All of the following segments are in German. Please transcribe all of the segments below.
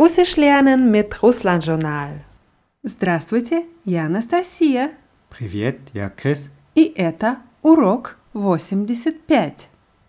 Russisch lernen mit Russland-Journal. Здравствуйте, я Анастасия. Привет, я Крис. И это урок 85.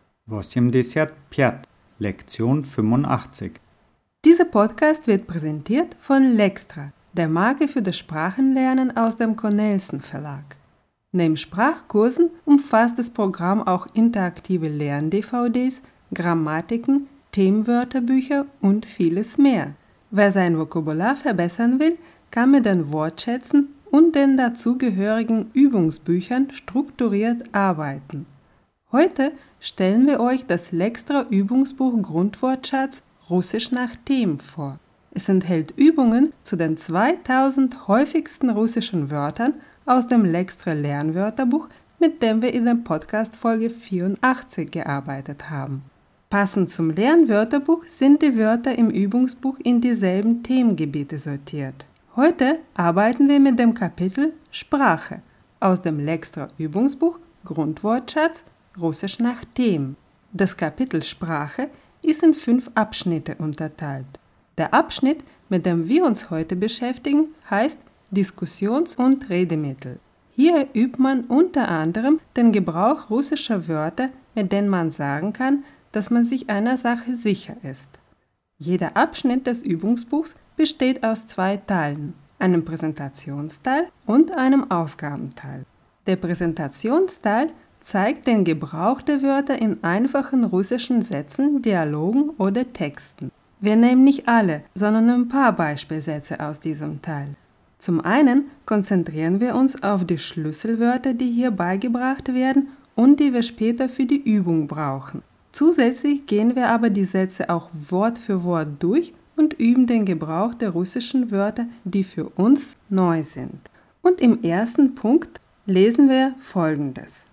85, Lektion 85. Dieser Podcast wird präsentiert von Lextra, der Marke für das Sprachenlernen aus dem Cornelsen Verlag. Neben Sprachkursen umfasst das Programm auch interaktive Lern-DVDs, Grammatiken, Themenwörterbücher und vieles mehr. Wer sein Vokabular verbessern will, kann mit den Wortschätzen und den dazugehörigen Übungsbüchern strukturiert arbeiten. Heute stellen wir euch das Lextra Übungsbuch Grundwortschatz Russisch nach Themen vor. Es enthält Übungen zu den 2000 häufigsten russischen Wörtern aus dem Lextra Lernwörterbuch, mit dem wir in der Podcast-Folge 84 gearbeitet haben. Passend zum Lernwörterbuch sind die Wörter im Übungsbuch in dieselben Themengebiete sortiert. Heute arbeiten wir mit dem Kapitel Sprache aus dem Lextra Übungsbuch Grundwortschatz Russisch nach Themen. Das Kapitel Sprache ist in 5 Abschnitte unterteilt. Der Abschnitt, mit dem wir uns heute beschäftigen, heißt Diskussions- und Redemittel. Hier übt man unter anderem den Gebrauch russischer Wörter, mit denen man sagen kann, dass man sich einer Sache sicher ist. Jeder Abschnitt des Übungsbuchs besteht aus 2 Teilen, einem Präsentationsteil und einem Aufgabenteil. Der Präsentationsteil zeigt den Gebrauch der Wörter in einfachen russischen Sätzen, Dialogen oder Texten. Wir nehmen nicht alle, sondern ein paar Beispielsätze aus diesem Teil. Zum einen konzentrieren wir uns auf die Schlüsselwörter, die hier beigebracht werden und die wir später für die Übung brauchen. Zusätzlich gehen wir aber die Sätze auch Wort für Wort durch und üben den Gebrauch der russischen Wörter, die für uns neu sind. Und im ersten Punkt lesen wir Folgendes.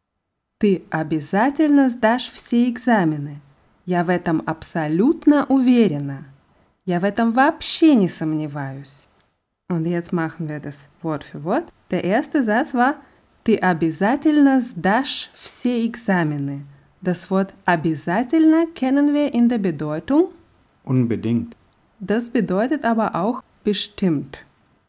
Ты обязательно сдашь все экзамены. Я в этом абсолютно уверена. Я в этом вообще не сомневаюсь. Und jetzt machen wir das Wort für Wort. Der erste Satz war Ты обязательно сдашь все экзамены. Das Wort обязательно kennen wir in der Bedeutung Unbedingt. Das bedeutet aber auch bestimmt.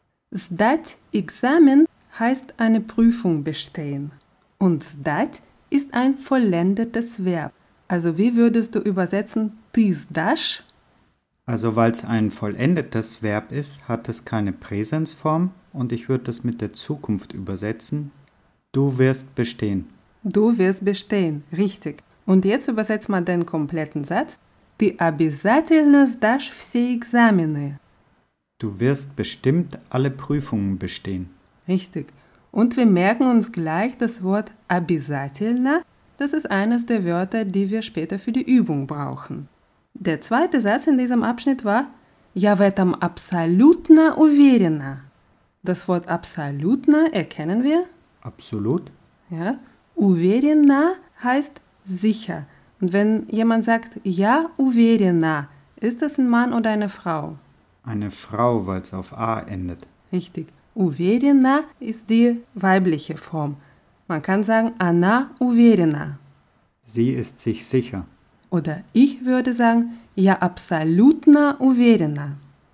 Сдать Examen heißt eine Prüfung bestehen. Und сдать ist ein vollendetes Verb. Also wie würdest du übersetzen ты сдашь? Also weil es ein vollendetes Verb ist, hat es keine Präsensform und ich würde das mit der Zukunft übersetzen. Du wirst bestehen. Du wirst bestehen, richtig. Und jetzt übersetzt man den kompletten Satz. Ты обязательно сдашь все экзамены. Du wirst bestimmt alle Prüfungen bestehen. Richtig. Und wir merken uns gleich das Wort обязательно. Das ist eines der Wörter, die wir später für die Übung brauchen. Der zweite Satz in diesem Abschnitt war Я в этом абсолютно уверена. Das Wort абсолютно erkennen wir. Absolut. Ja. Уверена heißt sicher. Und wenn jemand sagt Ja уверена, ist das ein Mann oder eine Frau? Eine Frau, weil es auf A endet. Richtig. Уверена ist die weibliche Form. Man kann sagen Она уверена. Sie ist sich sicher. Oder ich würde sagen Я абсолютно уверена.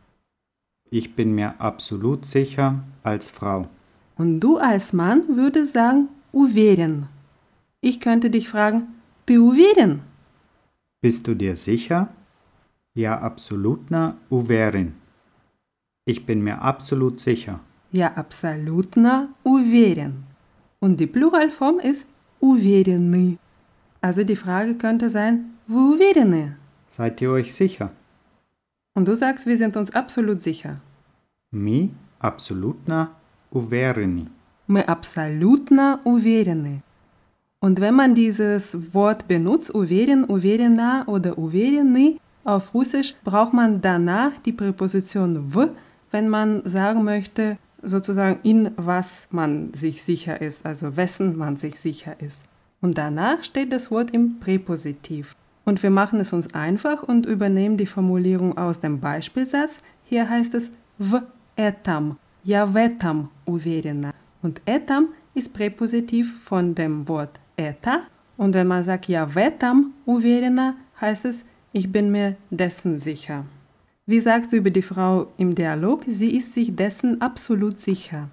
Ich bin mir absolut sicher als Frau. Und du als Mann würdest sagen уверен. Ich könnte dich fragen Ты уверен? Bist du dir sicher? Ja, абсолютно уверен. Ich bin mir absolut sicher. Я абсолютно уверен. Und die Pluralform ist уверены. Also die Frage könnte sein, вы уверены? Seid ihr euch sicher? Und du sagst, wir sind uns absolut sicher. Mi абсолютно уверены. Мы абсолютно уверены. Und wenn man dieses Wort benutzt, уверен, уверена oder уверены, auf Russisch braucht man danach die Präposition w, wenn man sagen möchte, sozusagen in was man sich sicher ist, also wessen man sich sicher ist. Und danach steht das Wort im Präpositiv. Und wir machen es uns einfach und übernehmen die Formulierung aus dem Beispielsatz. Hier heißt es в этом, я в этом уверена. Und этом ist Präpositiv von dem Wort это. Und wenn man sagt ja в этом уверена, heißt es, ich bin mir dessen sicher. Wie sagst du über die Frau im Dialog? Sie ist sich dessen absolut sicher.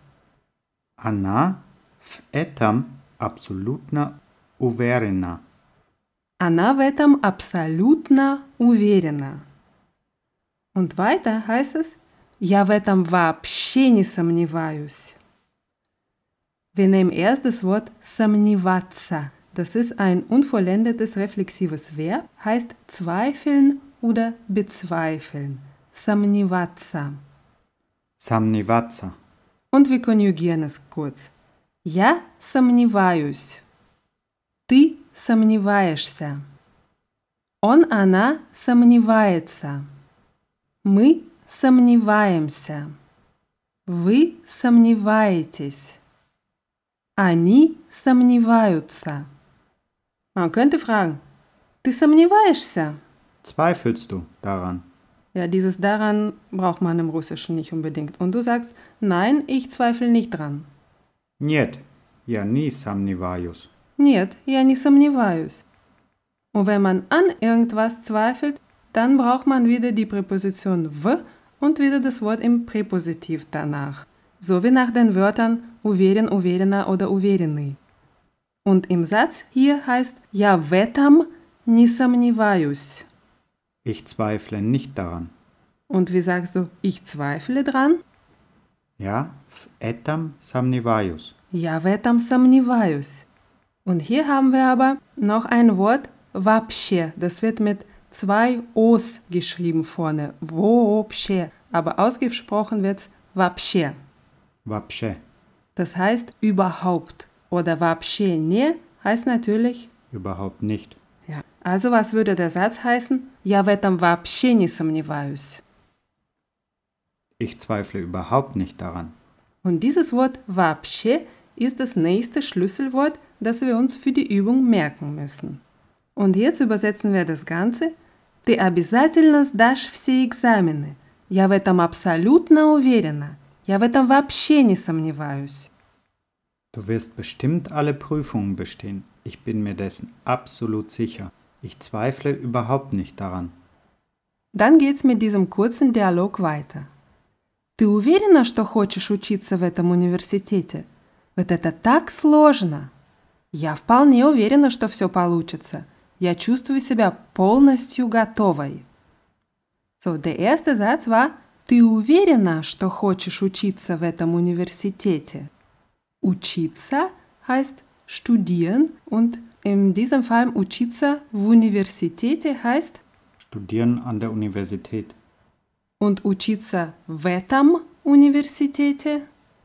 Она в этом абсолютно уверена. Она в этом абсолютно уверена. Und weiter heißt es, я в этом вообще не сомневаюсь. Wir nehmen erst das Wort сомневаться. Das ist ein unvollendetes reflexives Verb, heißt zweifeln oder bezweifeln. Сомневаться. Сомневаться. Und wir konjugieren es kurz. Я сомневаюсь. Ты сомневаешься. Он, она сомневается. Мы сомневаемся. Вы сомневаетесь. Они сомневаются. Man könnte fragen, ты сомневаешься? Zweifelst du daran? Ja, dieses daran braucht man im Russischen nicht unbedingt. Und du sagst, nein, ich zweifle nicht dran. Нет, я не сомневаюсь. Нет, я не сомневаюсь. Und wenn man an irgendwas zweifelt, dann braucht man wieder die Präposition в und wieder das Wort im Präpositiv danach. So wie nach den Wörtern уверен, уверена oder уверенный. Und im Satz hier heißt я в этом не сомневаюсь. Ich zweifle nicht daran. Und wie sagst du, ich zweifle dran? Я в этом сомневаюсь. Я в этом сомневаюсь. Und hier haben wir aber noch ein Wort вообще. Das wird mit 2 O's geschrieben vorne. Вообще. Aber ausgesprochen wird's вообще. Вообще. Das heißt überhaupt. Oder вообще не heißt natürlich Überhaupt nicht. ja. Also was würde der Satz heißen? Я в этом вообще не сомневаюсь. Ich zweifle überhaupt nicht daran. Und dieses Wort вообще ist das nächste Schlüsselwort, das wir uns für die Übung merken müssen. Und jetzt übersetzen wir das Ganze. Ты обязательно сдашь все экзамены. Я в этом абсолютно уверена. Я в этом вообще не сомневаюсь. Du wirst bestimmt alle Prüfungen bestehen. Ich bin mir dessen absolut sicher. Ich zweifle überhaupt nicht daran. Dann geht's mit diesem kurzen Dialog weiter. Ты уверена, что хочешь учиться в этом университете? Вот это так сложно. Я вполне уверена, что все получится. Я чувствую себя полностью готовой. So, der erste Satz war, ты уверена, что хочешь учиться в этом университете? Учиться heißt studieren und in diesem Fall учиться в университете heißt Studieren an der Universität. und учиться в этом университете.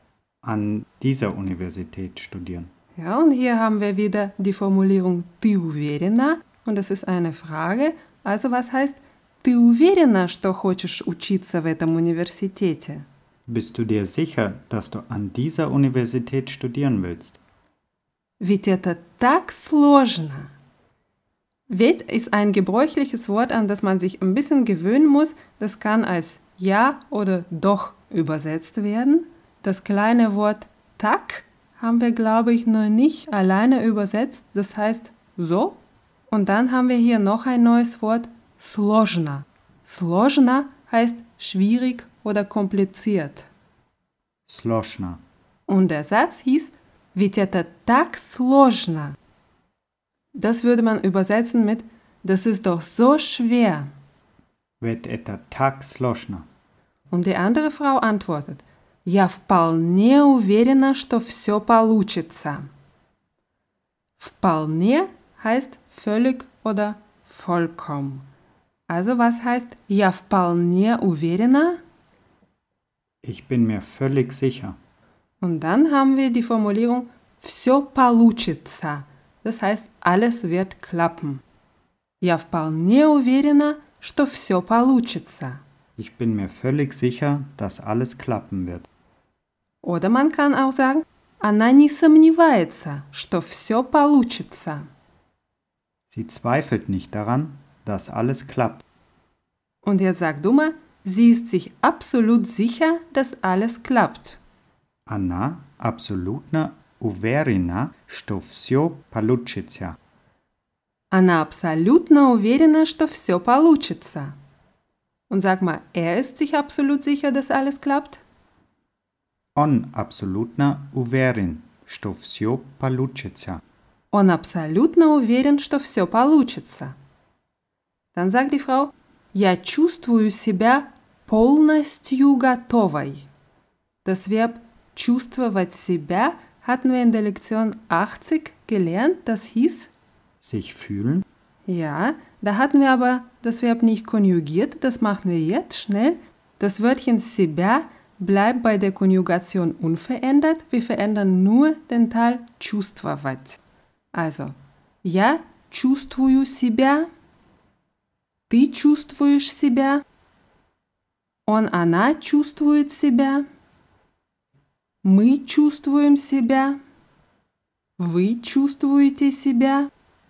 An dieser Universität studieren. Ja, und hier haben wir wieder die Formulierung ты уверена und das ist eine Frage. Also was heißt ты уверена, что хочешь учиться в этом университете? Bist du dir sicher, dass du an dieser Universität studieren willst? Ведь это так сложно. Ведь ist ein gebräuchliches Wort, an das man sich ein bisschen gewöhnen muss. Das kann als ja oder doch übersetzt werden. Das kleine Wort tak haben wir, glaube ich, noch nicht alleine übersetzt. Das heißt so. Und dann haben wir hier noch ein neues Wort, сложно. Сложно heißt schwierig oder kompliziert. Сложно. Und der Satz hieß, ведь это так сложно. Das würde man übersetzen mit, das ist doch so schwer. Ведь это так сложно. Und die andere Frau antwortet, я вполне уверена, что все получится. Вполне heißt völlig oder vollkommen. Also was heißt я вполне уверена? Ich bin mir völlig sicher. Und dann haben wir die Formulierung все получится. Das heißt, alles wird klappen. Я вполне уверена, что все получится. Ich bin mir völlig sicher, dass alles klappen wird. Oder man kann auch sagen, она не сомневается, что все получится. Sie zweifelt nicht daran, dass alles klappt. Und jetzt sag du mal, sie ist sich absolut sicher, dass alles klappt. Она абсолютно уверена, что все получится. Она абсолютно уверена, что все получится. Und sag mal, er ist sich absolut sicher, dass alles klappt? On абсолютно уверен, что все получится. Он абсолютно уверен, что все получится. Dann sagt die Frau, я чувствую себя полностью готовой. Das Verb чувствовать себя hatten wir in der Lektion 80 gelernt. Das hieß, Sich fühlen, ja, da hatten wir aber das Verb nicht konjugiert. Das machen wir jetzt schnell. Das Wörtchen себя bleibt bei der Konjugation unverändert. Wir verändern nur den Teil чувствовать. Also, я чувствую себя, ты чувствуешь себя, он, она чувствует себя, мы чувствуем себя, вы чувствуете себя,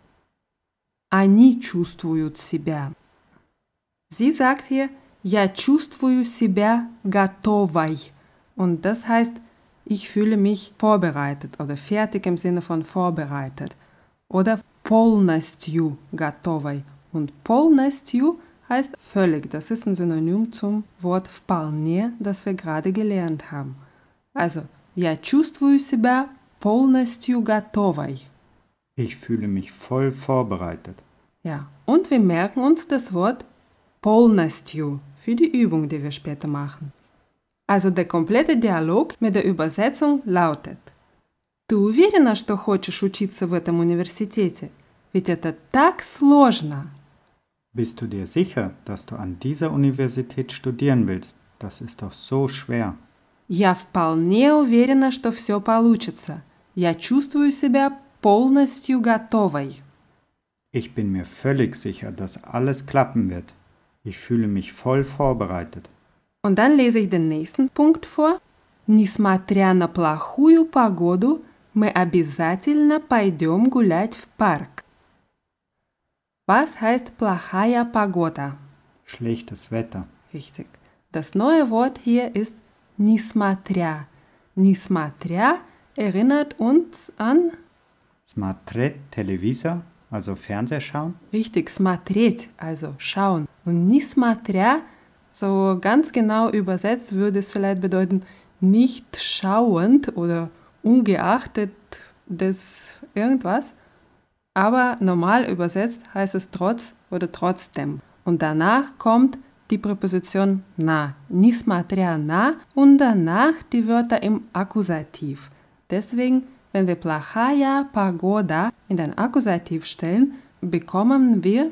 они чувствуют себя. Sie sagt hier, я чувствую себя готовой. Und das heißt, ich fühle mich vorbereitet oder fertig im Sinne von vorbereitet. Oder полностью готовой. Und полностью heißt völlig. Das ist ein Synonym zum Wort вполне, das wir gerade gelernt haben. Also, я чувствую себя полностью готовой. ich fühle mich voll vorbereitet. Ja, und wir merken uns das Wort полностью für die Übung, die wir später machen. Also der komplette Dialog mit der Übersetzung lautet: Ты уверена, что хочешь учиться в этом университете? Ведь это так сложно. Bist du dir sicher, dass du an dieser Universität studieren willst? Das ist doch so schwer. Я вполне уверена, что все получится. Я чувствую себя полностью готовой. Ich bin mir völlig sicher, dass alles klappen wird. Ich fühle mich voll vorbereitet. Und dann lese ich den nächsten Punkt vor. Несмотря на плохую погоду, мы обязательно пойдем гулять в парк. Was heißt плохая погода? Schlechtes Wetter. Richtig. Das neue Wort hier ist несмотря. Несмотря erinnert uns an, Смотреть телевизор, also Fernseher schauen. richtig, смотреть, also schauen. Und несмотря, so ganz genau übersetzt würde es vielleicht bedeuten, nicht schauend oder ungeachtet des irgendwas. Aber normal übersetzt heißt es trotz oder trotzdem. Und danach kommt die Präposition na, несмотря на, und danach die Wörter im Akkusativ. Deswegen, wenn wir плохая погода in den Akkusativ stellen, bekommen wir,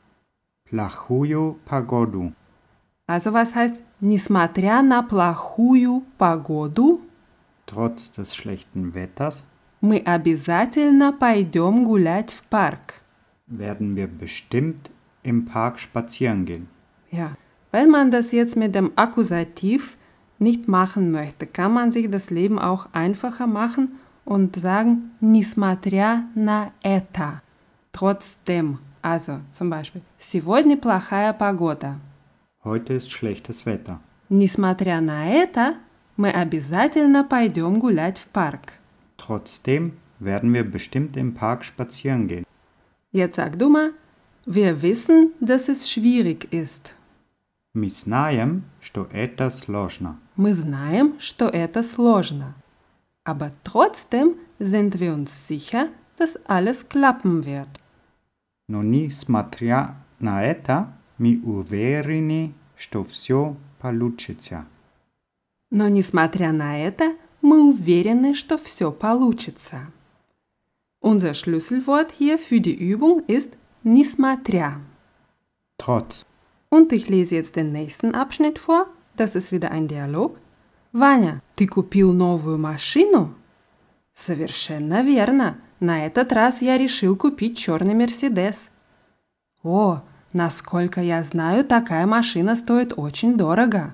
Плохую погоду. also was heißt, несмотря на плохую погоду, Trotz des schlechten Wetters мы обязательно пойдем гулять в парк. werden wir bestimmt im Park spazieren gehen. Ja, wenn man das jetzt mit dem Akkusativ nicht machen möchte, kann man sich das Leben auch einfacher machen und sagen, несмотря на это, trotzdem. Also zum Beispiel, сегодня плохая погода. Heute ist schlechtes Wetter. Несмотря на это, мы обязательно пойдем гулять в парк. Trotzdem werden wir bestimmt im Park spazieren gehen. Jetzt sag du mal, wir wissen, dass es schwierig ist. Мы знаем, что это сложно. Мы знаем, что это сложно. Aber trotzdem sind wir uns sicher, dass alles klappen wird. Но несмотря на это, мы уверены, что все получится. Но несмотря на это, мы уверены, что все получится. Unser Schlüsselwort hier für die Übung ist несмотря. Trotz. Und ich lese jetzt den nächsten Abschnitt vor. Das ist wieder ein Dialog. Ваня, ты купил новую машину? Совершенно верно. На этот раз я решил купить черный Мерседес. О, насколько я знаю, такая машина стоит очень дорого.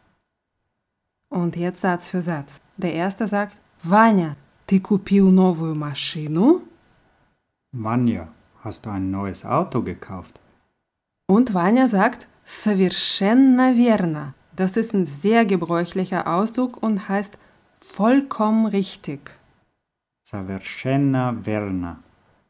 Und jetzt Satz für Satz. Der erste sagt, Ваня, ты купил новую машину? Vanya, hast du ein neues Auto gekauft? Und Vanya sagt, совершенно верно. Das ist ein sehr gebräuchlicher Ausdruck und heißt vollkommen richtig. Совершенно верно.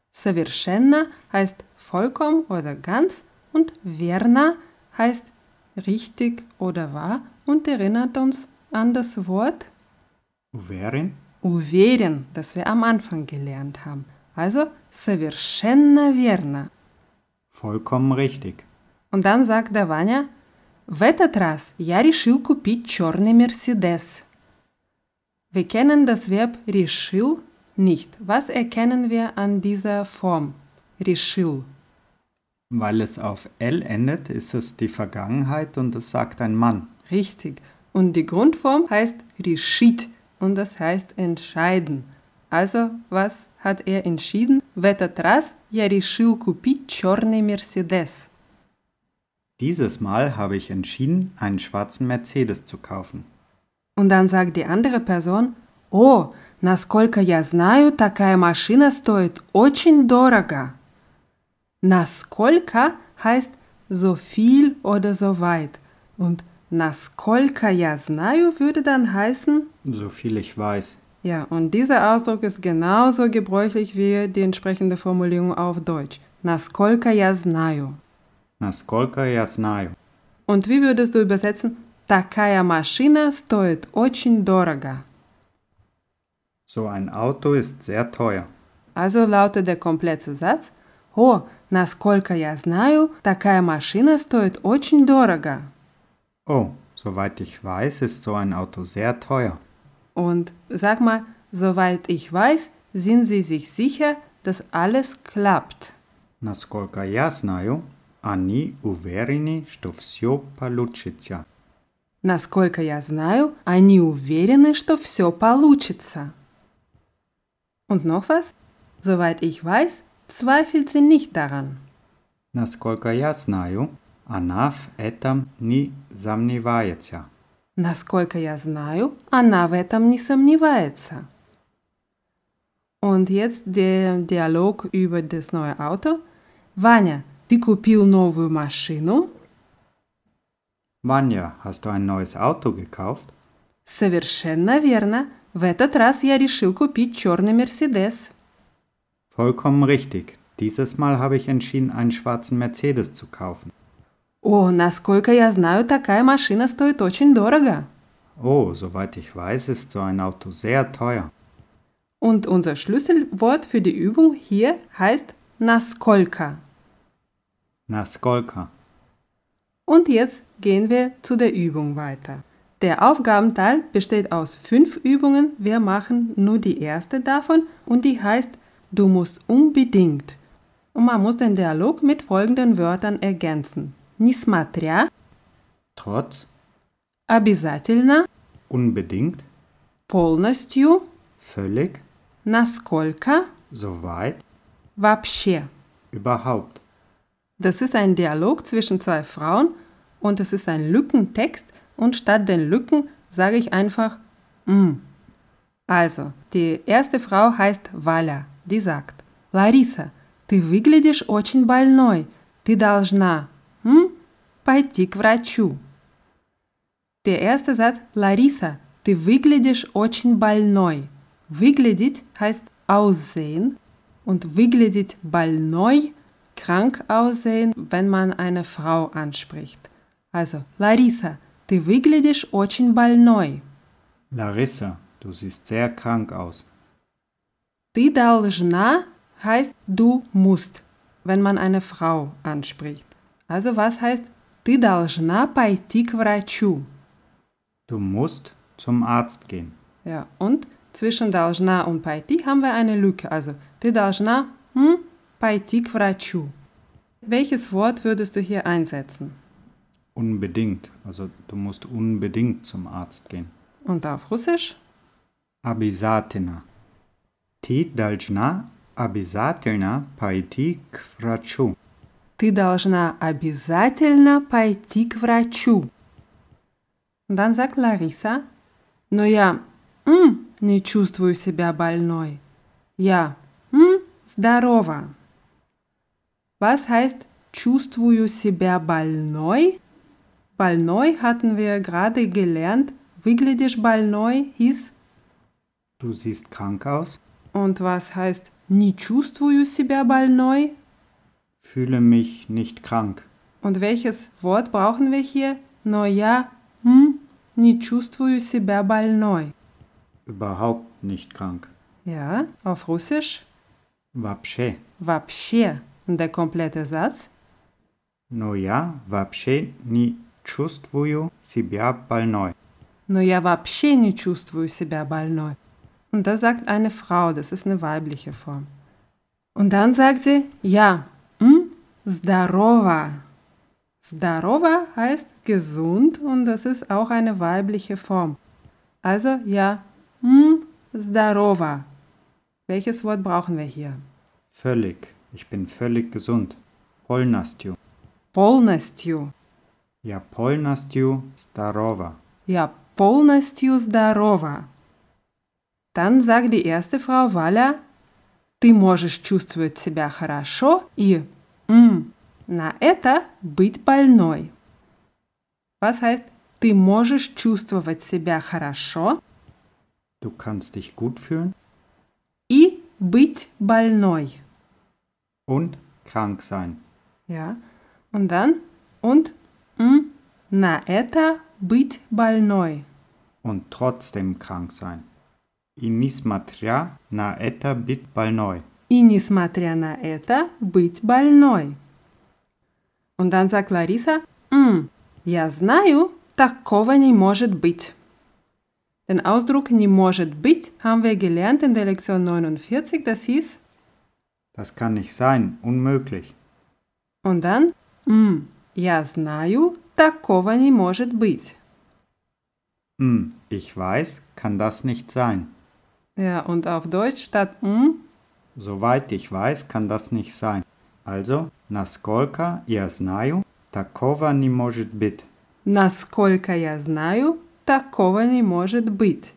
Совершенно heißt vollkommen oder ganz und верно heißt richtig oder wahr und erinnert uns an das Wort Uverin? uверен, das wir am Anfang gelernt haben. Also совершенно верно. Vollkommen richtig. Und dann sagt der Vanya, в этот раз я решил купить черный Mercedes. Wir kennen das Verb решил nicht. Was erkennen wir an dieser Form? Решил. Weil es auf L endet, ist es die Vergangenheit und es sagt ein Mann. Richtig. Und die Grundform heißt решить und das heißt entscheiden. Also, was hat er entschieden? В этот раз я решил купить черный Mercedes. Dieses Mal habe ich entschieden, einen schwarzen Mercedes zu kaufen. Und dann sagt die andere Person, «О, насколько я знаю, такая машина стоит очень дорого». Насколько heißt so viel oder so weit. Und насколько я знаю würde dann heißen, So viel ich weiß. ja, und dieser Ausdruck ist genauso gebräuchlich wie die entsprechende Formulierung auf Deutsch. Насколько я знаю. Naskолько я знаю. Und wie würdest du übersetzen? Такая машина стоит очень дорого. So ein Auto ist sehr teuer. Also lautet der komplette Satz: О, насколько я знаю, такая машина стоит очень дорого. Oh, soweit ich weiß, ist so ein Auto sehr teuer. Und sag mal, soweit ich weiß, sind Sie sich sicher, dass alles klappt. Насколько я знаю, они уверены, что все получится. Насколько я знаю, они уверены, что все получится. Und noch was? Soweit ich weiß, zweifelt sie nicht daran. Насколько я знаю, она в этом не сомневается. Насколько я знаю, она в этом не сомневается. Und jetzt der Dialog über das neue Auto. Vanya, ты купил новую машину? Vanya, hast du ein neues Auto gekauft? Совершенно верно. В этот раз я решил купить черный Mercedes. Vollkommen richtig. Dieses Mal habe ich entschieden, einen schwarzen Mercedes zu kaufen. О, насколько я знаю, такая машина стоит очень дорого. Oh, soweit ich weiß, ist so ein Auto sehr teuer. Und unser Schlüsselwort für die Übung hier heißt насколько. Naskolka. Und jetzt gehen wir zu der Übung weiter. Der Aufgabenteil besteht aus 5 Übungen. Wir machen nur die erste davon und die heißt Du musst unbedingt. Und man muss den Dialog mit folgenden Wörtern ergänzen. Несмотря, Trotz, обязательно, unbedingt, полностью, völlig, насколько, soweit, вообще. überhaupt. Das ist ein Dialog zwischen 2 Frauen und es ist ein Lückentext und statt den Lücken sage ich einfach Also, die erste Frau heißt Валя, die sagt Лариса, ты выглядишь очень больной, ты должна пойти к врачу. Der erste Satz, Лариса, ты выглядишь очень больной. Выглядеть heißt aussehen und выглядеть больной krank aussehen, wenn man eine Frau anspricht. Also, Larissa, ты выглядишь очень больной. Larissa, du siehst sehr krank aus. Ты должна heißt du musst, wenn man eine Frau anspricht. Also, was heißt ты должна пойти к врачу? Du musst zum Arzt gehen. Ja, und zwischen должна und пойти haben wir eine Lücke. Also, ты должна пойти к врачу. Welches Wort würdest du hier einsetzen? Unbedingt. Also du musst unbedingt zum Arzt gehen. Und auf Russisch? Обязательно. Ты должна обязательно пойти к врачу. Ты должна обязательно пойти к врачу. Und dann sagt Larissa, но я не чувствую себя больной. Я здорова. Was heißt чувствую себя больной? Больной hatten wir gerade gelernt. Выглядишь больной hieß. Du siehst krank aus? Und was heißt не чувствую себя больной? Fühle mich nicht krank. Und welches Wort brauchen wir hier? но я не чувствую себя больной. Überhaupt nicht krank. Ja, auf Russisch? Вообще. Вообще. Und der komplette Satz? Но я вообще не чувствую себя больной. Но я вообще не чувствую себя больной. Und das sagt eine Frau, das ist eine weibliche Form. Und dann sagt sie, ja, здорово. Здорово heißt gesund und das ist auch eine weibliche Form. Also, ja, здорово. Welches Wort brauchen wir hier? Völlig. Ich bin völlig gesund. Полностью. Полностью. Я полностью здорова. Ja, полностью здорова. Dann sagt die erste Frau Валя, ты можешь чувствовать себя хорошо и на это быть больной. Was heißt, ты можешь чувствовать себя хорошо Du kannst dich gut fühlen и быть больной. und krank sein. Ja, und dann на это быть больной. Und trotzdem krank sein. И несмотря на это быть больной. И несмотря на это быть больной. Und dann sagt Larissa, я знаю, такого не может быть. Den Ausdruck не может быть haben wir gelernt in der Lektion 49, das hieß, Das kann nicht sein, unmöglich. und dann, я знаю, такого не может быть. Ich weiß, kann das nicht sein. Ja, und auf Deutsch statt Soweit ich weiß, kann das nicht sein. Also, насколько я знаю, такого не может быть. насколько я знаю, такого не может быть.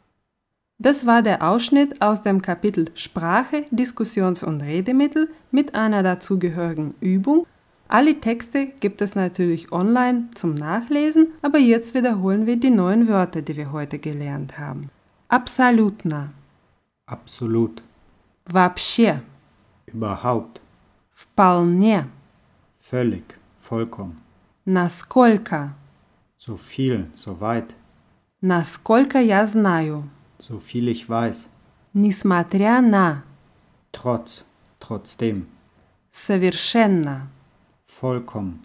Das war der Ausschnitt aus dem Kapitel Sprache, Diskussions- und Redemittel mit einer dazugehörigen Übung. Alle Texte gibt es natürlich online zum Nachlesen, aber jetzt wiederholen wir die neuen Wörter, die wir heute gelernt haben. Абсолютно, Absolut. вообще, Überhaupt. вполне, Völlig. Vollkommen. насколько, So viel, so weit. насколько я знаю, So viel ich weiß. несмотря на, Trotz. Trotzdem. совершенно, Vollkommen.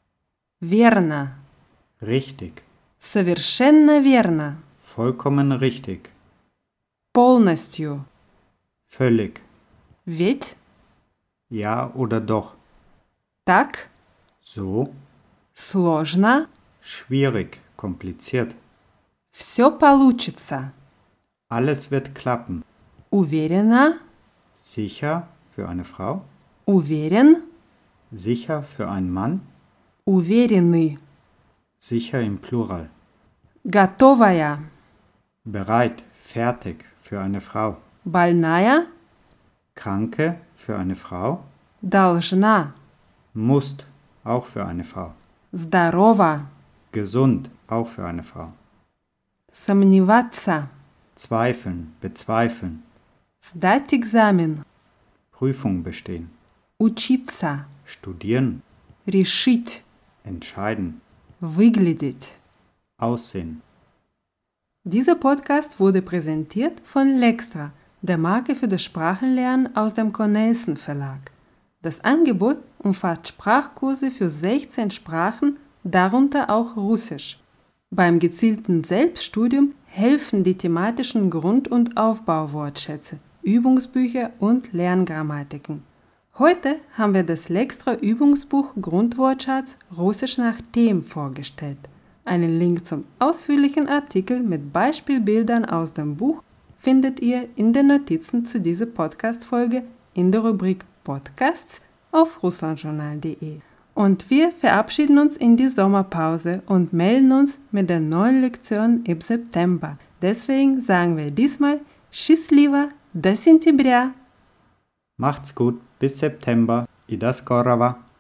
верно, Richtig. совершенно верно, Vollkommen richtig. полностью, Völlig. ведь, Ja oder doch. так, So. сложно, Schwierig. Kompliziert. все получится, Alles wird klappen. уверена, Sicher für eine Frau. уверен, Sicher für einen Mann. уверенный, Sicher im Plural. готовая, Bereit. Fertig für eine Frau. больная, Kranke für eine Frau. должна, Musst. Auch für eine Frau. здорова, Gesund. Auch für eine Frau. сомневаться, Zweifeln. Bezweifeln. сдать экзамен, Prüfung bestehen. учиться, Studieren. решить, Entscheiden. выглядеть. Aussehen. Dieser Podcast wurde präsentiert von Lextra, der Marke für das Sprachenlernen aus dem Cornelsen Verlag. Das Angebot umfasst Sprachkurse für 16 Sprachen, darunter auch Russisch. Beim gezielten Selbststudium helfen die thematischen Grund- und Aufbauwortschätze, Übungsbücher und Lerngrammatiken. Heute haben wir das Lextra-Übungsbuch Grundwortschatz Russisch nach Themen vorgestellt. Einen Link zum ausführlichen Artikel mit Beispielbildern aus dem Buch findet ihr in den Notizen zu dieser Podcast-Folge in der Rubrik Podcasts auf russlandjournal.de. Und wir verabschieden uns in die Sommerpause und melden uns mit der neuen Lektion im September. Deswegen sagen wir diesmal Счастливо, до сентября! Macht's gut. Bis September. I do skorowa.